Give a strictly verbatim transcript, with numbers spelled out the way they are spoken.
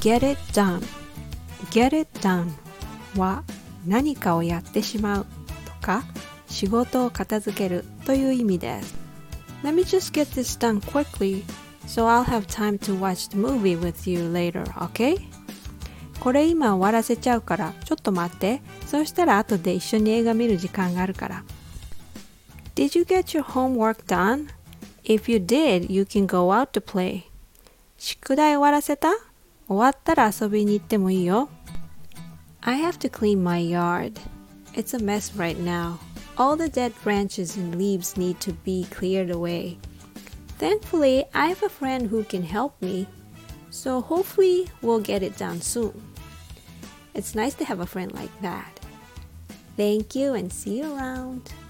get it done get it done は何かをやってしまうとか仕事を片付けるという意味です。Let me just get this done quickly so I'll have time to watch the movie with you later, okay? これ今終わらせちゃうからちょっと待って。そうしたら後で一緒に映画見る時間があるから。Did you get your homework done? If you did, you can go out to play. 宿題終わらせた？終わったら遊びに行ってもいいよ。I have to clean my yard. It's a mess right now. All the dead branches and leaves need to be cleared away. Thankfully, I have a friend who can help me. So hopefully we'll get it done soon. It's nice to have a friend like that. Thank you and see you around.